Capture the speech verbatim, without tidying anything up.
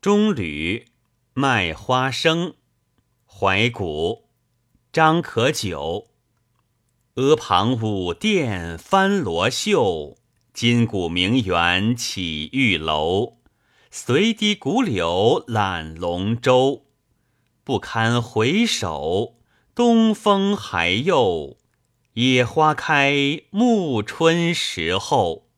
中吕卖花生，怀古张可久。阿房舞殿翻罗袖，金鼓名园起玉楼。随堤古柳揽龙舟，不堪回首，东风还右。野花开暮春时候。